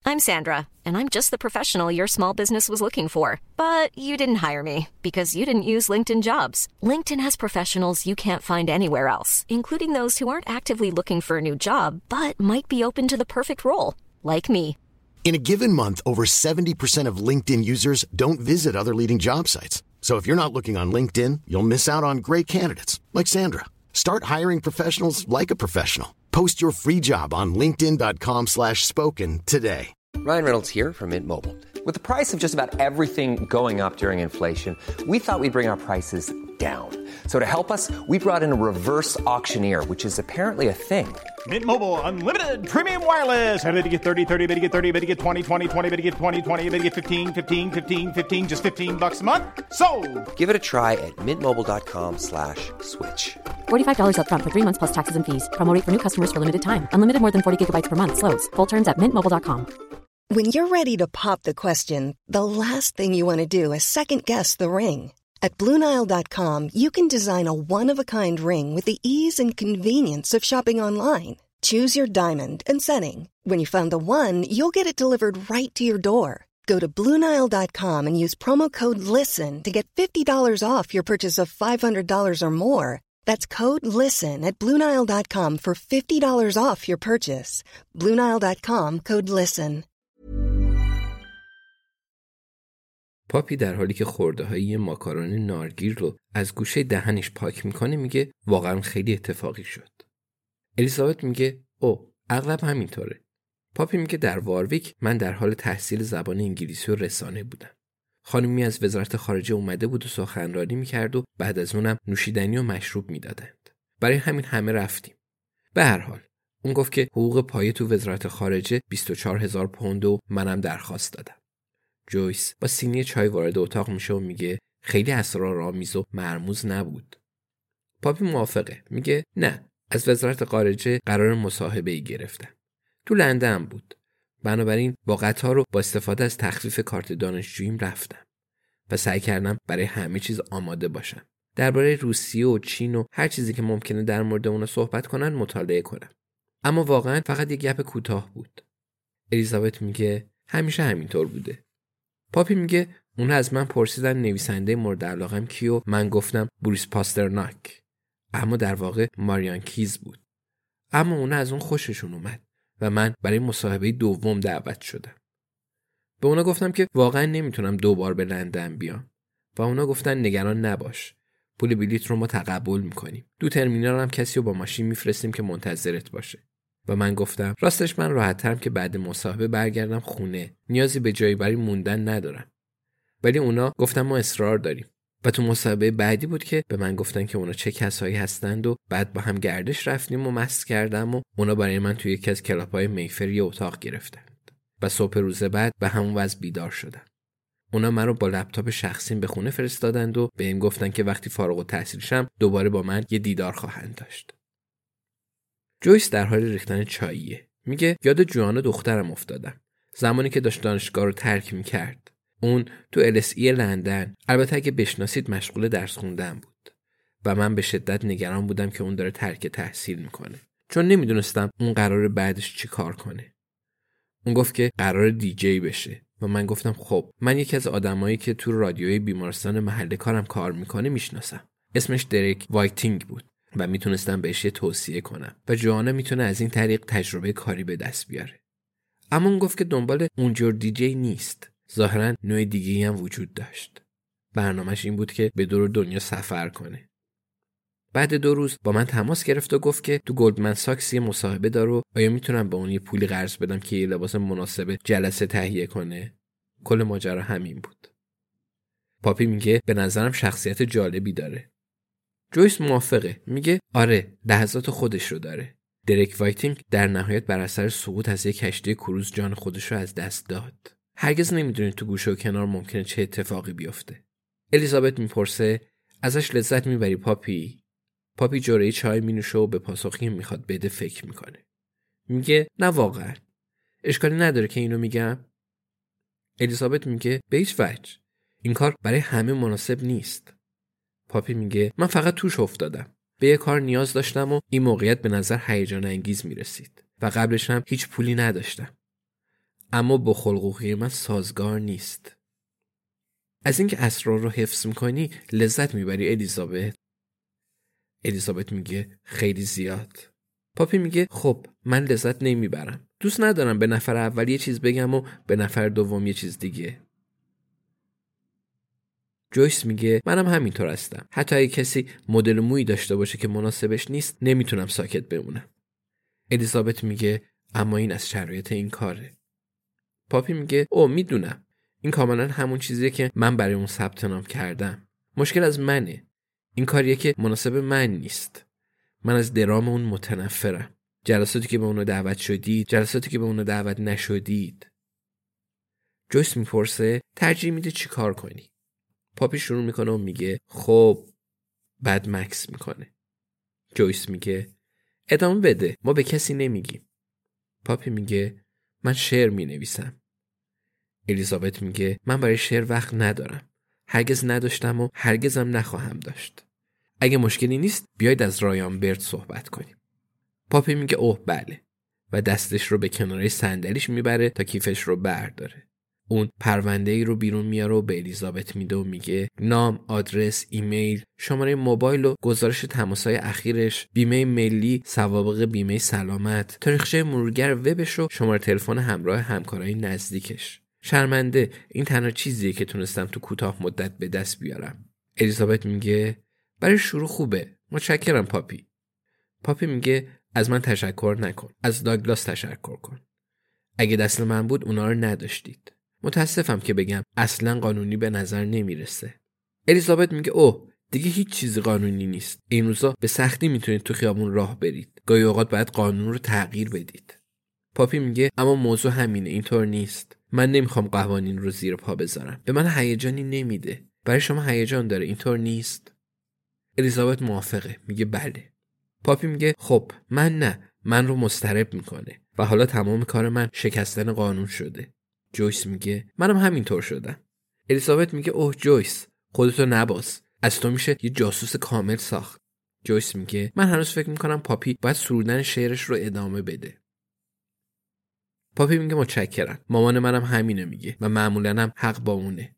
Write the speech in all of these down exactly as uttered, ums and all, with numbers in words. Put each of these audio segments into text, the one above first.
I'm Sandra, and I'm just the professional your small business was looking for. But you didn't hire me because you didn't use LinkedIn Jobs. LinkedIn has professionals you can't find anywhere else, including those who aren't actively looking for a new job, but might be open to the perfect role, like me. In a given month, over seventy percent of LinkedIn users don't visit other leading job sites. So if you're not looking on LinkedIn, you'll miss out on great candidates like Sandra. Start hiring professionals like a professional. Post your free job on linkedin.com slash spoken today. Ryan Reynolds here from Mint Mobile. With the price of just about everything going up during inflation, we thought we'd bring our prices down. So to help us, we brought in a reverse auctioneer, which is apparently a thing. Mint Mobile Unlimited Premium Wireless. How to get thirty, thirty, how to get thirty, how to get twenty, twenty, twenty, how to get twenty, twenty, how to get fifteen, fifteen, fifteen, fifteen, just fifteen bucks a month? Sold! Give it a try at mintmobile.com slash switch. forty-five dollars up front for three months plus taxes and fees. Promo rate for new customers for limited time. Unlimited more than forty gigabytes per month. Slows full terms at mint mobile dot com. When you're ready to pop the question, the last thing you want to do is second-guess the ring. At Blue Nile dot com, you can design a one-of-a-kind ring with the ease and convenience of shopping online. Choose your diamond and setting. When you find the one, you'll get it delivered right to your door. Go to Blue Nile dot com and use promo code LISTEN to get fifty dollars off your purchase of five hundred dollars or more. That's code LISTEN at Blue Nile dot com for fifty dollars off your purchase. Blue Nile dot com, code LISTEN. پاپی در حالی که خورده‌های یه ماکارون نارگیل رو از گوشه دهنش پاک میکنه میگه واقعا خیلی اتفاقی شد. الیزابت میگه او اغلب همینطوره. پاپی میگه در وارویک من در حال تحصیل زبان انگلیسی و رسانه بودم. خانمی از وزارت خارجه اومده بود و سخنرانی میکرد و بعد از اونم نوشیدنی و مشروب میدادند. برای همین همه رفتیم. به هر حال اون گفت که حقوق پایه تو وزارت خارجه بیست و چهار هزار پوند و منم درخواست دادم. جویس با سینی چای وارد اتاق میشه و میگه خیلی اسرارآمیز و مرموز نبود. پاپی موافقه. میگه نه، از وزارت خارجه قرار مصاحبه‌ای گرفتم. تو لندن بود. بنابراین با قطار و با استفاده از تخفیف کارت دانشجوییم رفتم و سعی کردم برای همه چیز آماده باشم. درباره روسیه و چین و هر چیزی که ممکنه در مورد اونها صحبت کنن مطالعه کنم. اما واقعا فقط یک گپ کوتاه بود. الیزابت میگه همیشه همینطور بوده. پاپی میگه اون از من پرسیدن نویسنده مورد علاقم کیو، من گفتم بوریس پاسترناک، اما در واقع ماریان کیز بود. اما اون از اون خوششون اومد و من برای مصاحبه دوم دعوت شدم. به اونا گفتم که واقعا نمیتونم دوبار به لندن بیام و اونا گفتن نگران نباش، پول بلیط رو ما تقبل میکنیم. دو ترمینال هم کسی رو با ماشین میفرستیم که منتظرت باشه. و من گفتم راستش من راحت‌ترم که بعد مصاحبه برگردم خونه، نیازی به جایی برای موندن ندارم. ولی اونا گفتن ما اصرار داریم. و تو مصاحبه بعدی بود که به من گفتن که اونا چه کسایی هستند و بعد با هم گردش رفتیم و مست کردم و اونا برای من توی یکی از کلاب‌های میفر یه اتاق گرفتند. و صبح روز بعد به همون وضع بیدار شدم. اونا منو با لپتاپ شخصیم به خونه فرستادند و بهم گفتن که وقتی فارغ التحصیل شم دوباره با من یه دیدار خواهند داشت. جویس در حال ریختن چاییه. میگه یاد جوانا دخترم افتادم. زمانی که داشت دانشگاه رو ترک میکرد. اون تو ال اس ای لندن، البته اگه بشناسید مشغول درس خوندن بود. و من به شدت نگران بودم که اون داره ترک تحصیل میکنه. چون نمیدونستم اون قراره بعدش چی کار کنه. اون گفت که قراره دیجی بشه. و من گفتم خب من یکی از آدمایی که تو رادیوی بیمارستان محل کارم کار میکنه میشناسم. اسمش دریک وایتینگ بود. و میتونستم بهش یه توصیه کنم و جوانا میتونه از این طریق تجربه کاری به دست بیاره. اما اون گفت که دنبال اونجور دیجی نیست. ظاهراً نوع دیگه‌ای هم وجود داشت. برنامه‌اش این بود که به دور دنیا سفر کنه. بعد دو روز با من تماس گرفت و گفت که تو گلدمن ساکس یه مصاحبه داره و آیا میتونم به اون یه پولی قرض بدم که یه لباس مناسب جلسه تهیه کنه. کل ماجرا همین بود. پاپی میگه به نظرم شخصیت جالبی داره. جویس موافقه. میگه آره، لحظات خودش رو داره. دریک وایتینگ در نهایت بر اثر سقوط از یک کشتی کروز جان خودش رو از دست داد. هرگز نمیدونید تو گوشه و کنار ممکنه چه اتفاقی بیفته. الیزابت میپرسه ازش لذت میبری پاپی؟ پاپی جرعه چای مینوشه و به پاسخی میخواد بده فکر میکنه. میگه نه واقعا. اشکالی نداره که اینو میگم؟ الیزابت میگه به هیچ وجه. این کار برای همه مناسب نیست. پاپی میگه من فقط توش افتادم. به یه کار نیاز داشتم و این موقعیت به نظر هیجان انگیز میرسید و قبلش هم هیچ پولی نداشتم. اما با خلق و خوی من سازگار نیست. از اینکه اسرار رو حفظ میکنی لذت میبری الیزابت؟ الیزابت میگه خیلی زیاد. پاپی میگه خب من لذت نمیبرم. دوست ندارم به نفر اول یه چیز بگم و به نفر دوم یه چیز دیگه. جویس میگه منم همینطور هستم. حتی اگه کسی مدل مویی داشته باشه که مناسبش نیست نمیتونم ساکت بمونم. الیزابت میگه اما این از شرایط این کاره. پاپی میگه او میدونم. این کاملا همون چیزیه که من برای اون ثبت نام کردم. مشکل از منه. این کاریه که مناسب من نیست. من از درام اون متنفرم. جلساتی که به اونو دعوت شدید، جلساتی که به اونو دعوت نشدید. جویس میپرسه ترجیح میده چی کار کنی؟ پاپی شروع میکنه و میگه خب بعد مکس میکنه. جویس میگه ادامه بده، ما به کسی نمیگیم. پاپی میگه من شعر مینویسم. الیزابت میگه من برای شعر وقت ندارم. هرگز نداشتم و هرگزم نخواهم داشت. اگه مشکلی نیست بیاید از رایان برد صحبت کنیم. پاپی میگه اوه بله و دستش رو به کناره صندلیش میبره تا کیفش رو برداره. اون پرونده ای رو بیرون میاره و به الیزابت میده و میگه نام، آدرس، ایمیل، شماره موبایل و گزارش تماس‌های اخیرش، بیمه ملی، سوابق بیمه سلامت، تاریخچه مرورگر وبش و شماره تلفن همراه همکارای نزدیکش. شرمنده، این تنها چیزیه که تونستم تو کوتاه مدت به دست بیارم. الیزابت میگه برای شروع خوبه. متشکرم پاپی. پاپی میگه از من تشکر نکن. از داگلاس تشکر کن. اگه دست من بود اونا رو نداشتید. متاسفم که بگم اصلا قانونی به نظر نمیرسه. الیزابت میگه اوه دیگه هیچ چیزی قانونی نیست. این روزا به سختی میتونید تو خیابون راه برید. گاهی اوقات باید قانون رو تغییر بدید. پاپی میگه اما موضوع همینه، اینطور نیست. من نمیخوام قوانین رو زیر پا بذارم. به من هیجانی نمیده. برای شما هیجان داره، اینطور نیست؟ الیزابت موافقه، میگه بله. پاپی میگه خب من نه، من رو مضطرب میکنه و حالا تمام کار من شکستن قانون شده. جویس میگه منم همینطور شدم. الیزابت میگه اوه جویس خودتو نباز، از تو میشه یه جاسوس کامل ساخت. جویس میگه من هنوز فکر میکنم پاپی باید سرودن شعرش رو ادامه بده. پاپی میگه متشکرم، مامان منم همینه میگه و معمولاً هم حق با اونه.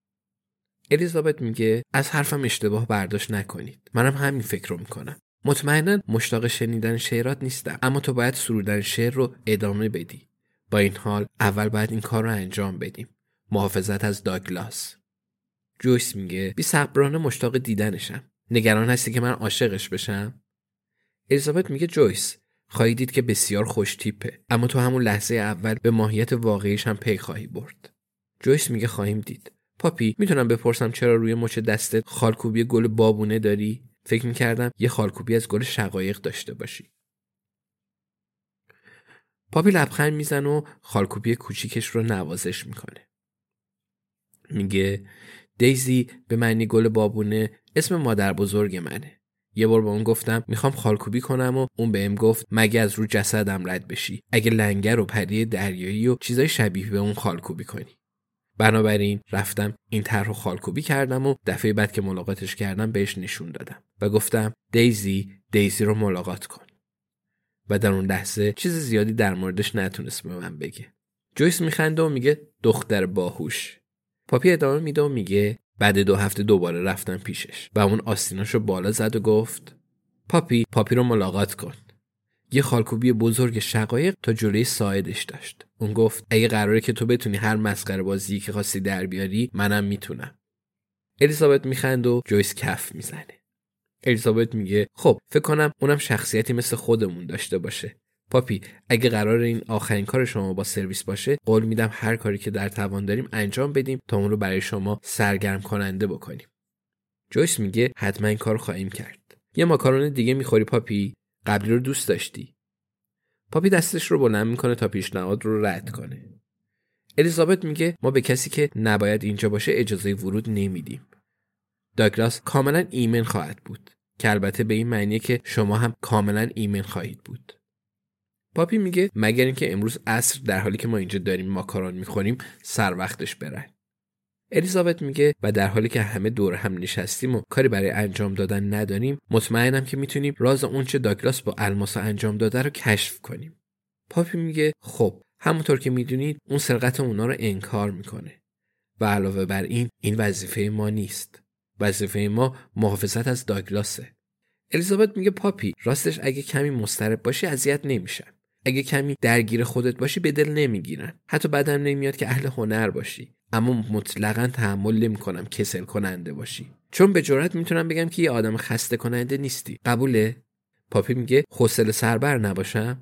الیزابت میگه از حرفم اشتباه برداشت نکنید، منم همین فکر رو میکنم. مطمئناً مشتاق شنیدن شعرات نیستم، اما تو باید سرودن شعر رو ادامه بدی. با این حال اول باید این کار رو انجام بدیم. محافظت از داگلاس. جویس میگه بی صبرانه مشتاق دیدنشم. نگران هستی که من عاشقش بشم؟ الیزابت میگه جویس خواهی دید که بسیار خوش تیپه، اما تو همون لحظه اول به ماهیت واقعیش هم پی خواهی برد. جویس میگه خواهیم دید. پاپی میتونم بپرسم چرا روی مچ دستت خالکوبی گل بابونه داری؟ فکر میکردم یه خالکوبی از گل شقایق داشته باشی. پاپی لبخند میزنه و خالکوبی کوچیکش رو نوازش میکنه. میگه دیزی به معنی گل بابونه اسم مادر بزرگ منه. یه بار با اون گفتم میخوام خالکوبی کنم و اون بهم گفت مگه از رو جسدم رد بشی، اگه لنگر و پری دریایی و چیزای شبیه به اون خالکوبی کنی. بنابراین رفتم این طرحو خالکوبی کردم و دفعه بعد که ملاقاتش کردم بهش نشون دادم و گفتم دیزی دیزی رو ملاقات کن. و در اون لحظه چیز زیادی در موردش نتونست به من بگه. جویس میخنده و میگه دختر باهوش. پاپی ادامه میده و میگه بعد دو هفته دوباره رفتم پیشش و اون آستیناشو بالا زد و گفت پاپی پاپی رو ملاقات کن. یه خالکوبی بزرگ شقایق تا جلوی ساعدش داشت. اون گفت اگه قراره که تو بتونی هر مسخره بازی که خواستی در بیاری منم میتونم. الیزابت میخنده و جویس کف میزنه. الیزابت میگه خب فکر کنم اونم شخصیتی مثل خودمون داشته باشه. پاپی اگه قرار این آخرین کار شما با سرویس باشه قول میدم هر کاری که در توان داریم انجام بدیم تا اون رو برای شما سرگرم کننده بکنیم. جویس میگه حتما این کار خواهیم کرد. یه ماکارون دیگه میخوری پاپی؟ قبلی رو دوست داشتی؟ پاپی دستش رو بلند میکنه تا پیشنهاد رو رد کنه. الیزابت میگه ما به کسی که نباید اینجا باشه اجازه ورود نمیدیم. داگلاس کاملا ایمن خواهد بود که البته به این معنیه که شما هم کاملا ایمن خواهید بود. پاپی میگه مگر اینکه امروز عصر در حالی که ما اینجا داریم ماکارون میخوریم سر وقتش برن. الیزابت میگه و در حالی که همه دور هم نشستیم و کاری برای انجام دادن نداریم مطمئنم که میتونیم راز اونچه داگلاس با الماسا انجام داده رو کشف کنیم. پاپی میگه خب همونطور که میدونید اون سرقت اونا رو انکار میکنه و علاوه بر این این وظیفه ما نیست. وظیفه ما محافظت از داگلاسه. الیزابت میگه پاپی راستش اگه کمی مضطرب باشی اذیت نمیشن. اگه کمی درگیر خودت باشی به دل نمیگیرن. حتی بعدم نمیاد که اهل هنر باشی. اما مطلقاً تحمل نمیکنم کسل کننده باشی. چون به جرئت میتونم بگم که یه آدم خسته کننده نیستی. قبوله؟ پاپی میگه حوصله سربر نباشم؟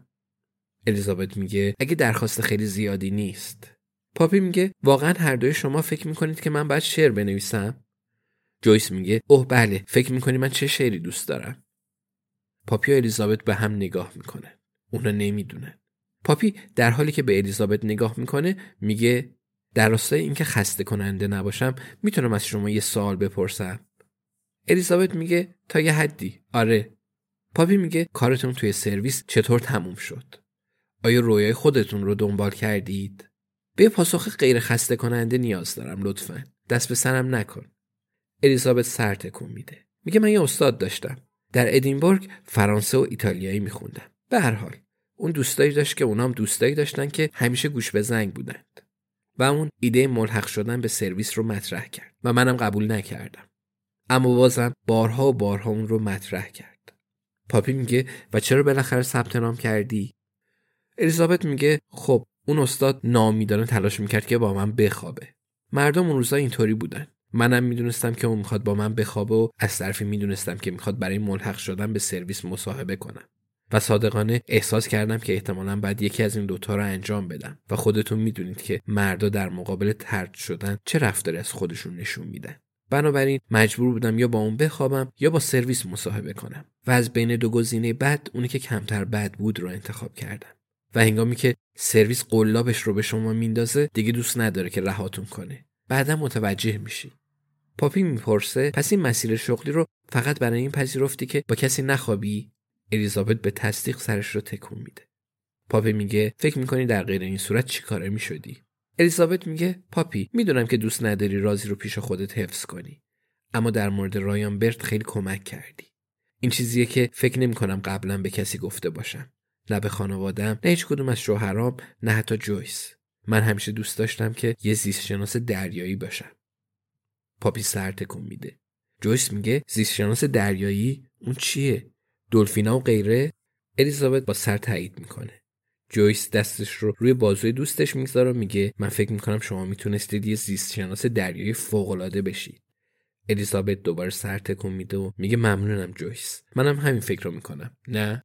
الیزابت میگه اگه درخواست خیلی زیادی نیست. پاپی میگه واقعاً هر دوی شما فکر میکنید که من باید شعر بنویسم؟ جویس میگه اوه بله، فکر میکنی من چه شعری دوست دارم؟ پاپی و الیزابت به هم نگاه میکنه. اونا نمیدونن. پاپی در حالی که به الیزابت نگاه میکنه میگه در راستای اینکه خسته کننده نباشم میتونم از شما یه سوال بپرسم؟ الیزابت میگه تا یه حدی. آره. پاپی میگه کارتون توی سرویس چطور تموم شد؟ آیا رویای خودتون رو دنبال کردید؟ به پاسخ غیر خسته کننده نیاز دارم لطفاً. دست به سرم نکن. الیزابت سر تکون میده. میگه من یه استاد داشتم. در ادینبورگ فرانسه و ایتالیایی میخوندم. به هر حال اون دوستایی داشت که اونام دوستایی داشتن که همیشه گوش به زنگ بودند. و اون ایده ملحق شدن به سرویس رو مطرح کرد و منم قبول نکردم. اما بازم بارها و بارها اون رو مطرح کرد. پاپی میگه و چرا بالاخره ثبت نام کردی؟ الیزابت میگه خب اون استاد ناامیدانه تلاش میکرد که با من بخوابه. مردم اون روزا اینطوری بودن. منم میدونستم که اون میخواد با من بخوابه و از طرفی میدونستم که میخواد برای ملحق شدن به سرویس مصاحبه کنم. و صادقانه احساس کردم که احتمالاً باید یکی از این دوتا رو انجام بدم و خودتون میدونید که مردا در مقابل طرد شدن چه رفتاری از خودشون نشون میدن. بنابراین مجبور بودم یا با اون بخوابم یا با سرویس مصاحبه کنم و از بین دو گزینه بد اونی که کمتر بد بود رو انتخاب کردم. و هنگامی که سرویس قلابش رو به شما میندازه دیگه دوست نداره که رهاتون کنه. بعدا متوجه میشی. پاپی میپرسه پس این مسیر شغلی رو فقط برای این پذیرفتی که با کسی نخوابی؟ الیزابت به تصدیق سرش رو تکون میده. پاپی میگه فکر میکنی در غیر این صورت چی کاره میشدی؟ الیزابت میگه پاپی میدونم که دوست نداری رازی رو پیش خودت حفظ کنی، اما در مورد رایان برت خیلی کمک کردی. این چیزیه که فکر نمیکنم قبلا به کسی گفته باشم، نه به خانواده‌ام، نه هیچ کدوم از شوهرام، نه حتی جویس. من همیشه دوست داشتم که یه زیست شناس دریایی باشم. پاپی سر تکون میده. جویس میگه زیست شناس دریایی؟ اون چیه؟ دلفینا و غیره؟ الیزابت با سر تایید میکنه. جویس دستش رو روی بازوی دوستش میذاره و میگه من فکر میکنم شما میتونستید یه زیست شناس دریایی فوق‌العاده بشید. الیزابت دوباره سر تکون میده و میگه ممنونم جویس. منم همین فکر رو میکنم. نه؟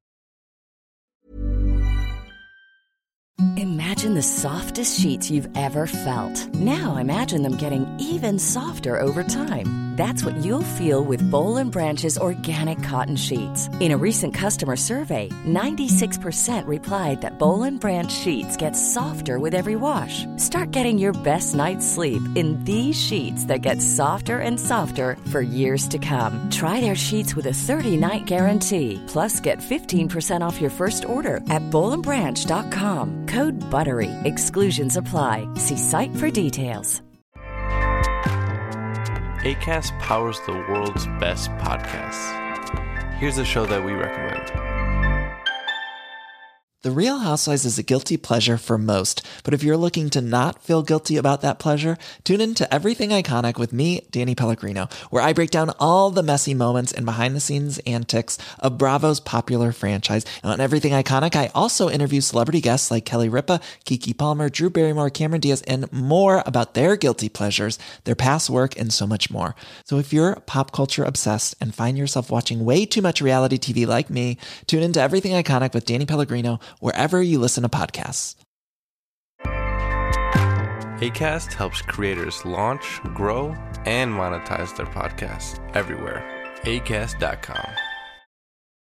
Imagine the softest sheets you've ever felt. Now imagine them getting even softer over time. That's what you'll feel with Boll and Branch's organic cotton sheets. In a recent customer survey, ninety-six percent replied that Boll and Branch sheets get softer with every wash. Start getting your best night's sleep in these sheets that get softer and softer for years to come. Try their sheets with a thirty-night guarantee. Plus, get fifteen percent off your first order at boll and branch dot com. Code BUTTERY. Exclusions apply. See site for details. Acast powers the world's best podcasts. Here's a show that we recommend. The Real Housewives is a guilty pleasure for most, but if you're looking to not feel guilty about that pleasure, tune in to Everything Iconic with me, Danny Pellegrino, where I break down all the messy moments and behind-the-scenes antics of Bravo's popular franchise. And on Everything Iconic, I also interview celebrity guests like Kelly Ripa, Keke Palmer, Drew Barrymore, Cameron Diaz, and more about their guilty pleasures, their past work, and so much more. So if you're pop culture obsessed and find yourself watching way too much reality T V like me, tune in to Everything Iconic with Danny Pellegrino, wherever you listen to podcasts. Acast helps creators launch, grow, and monetize their podcasts everywhere. acast dot com.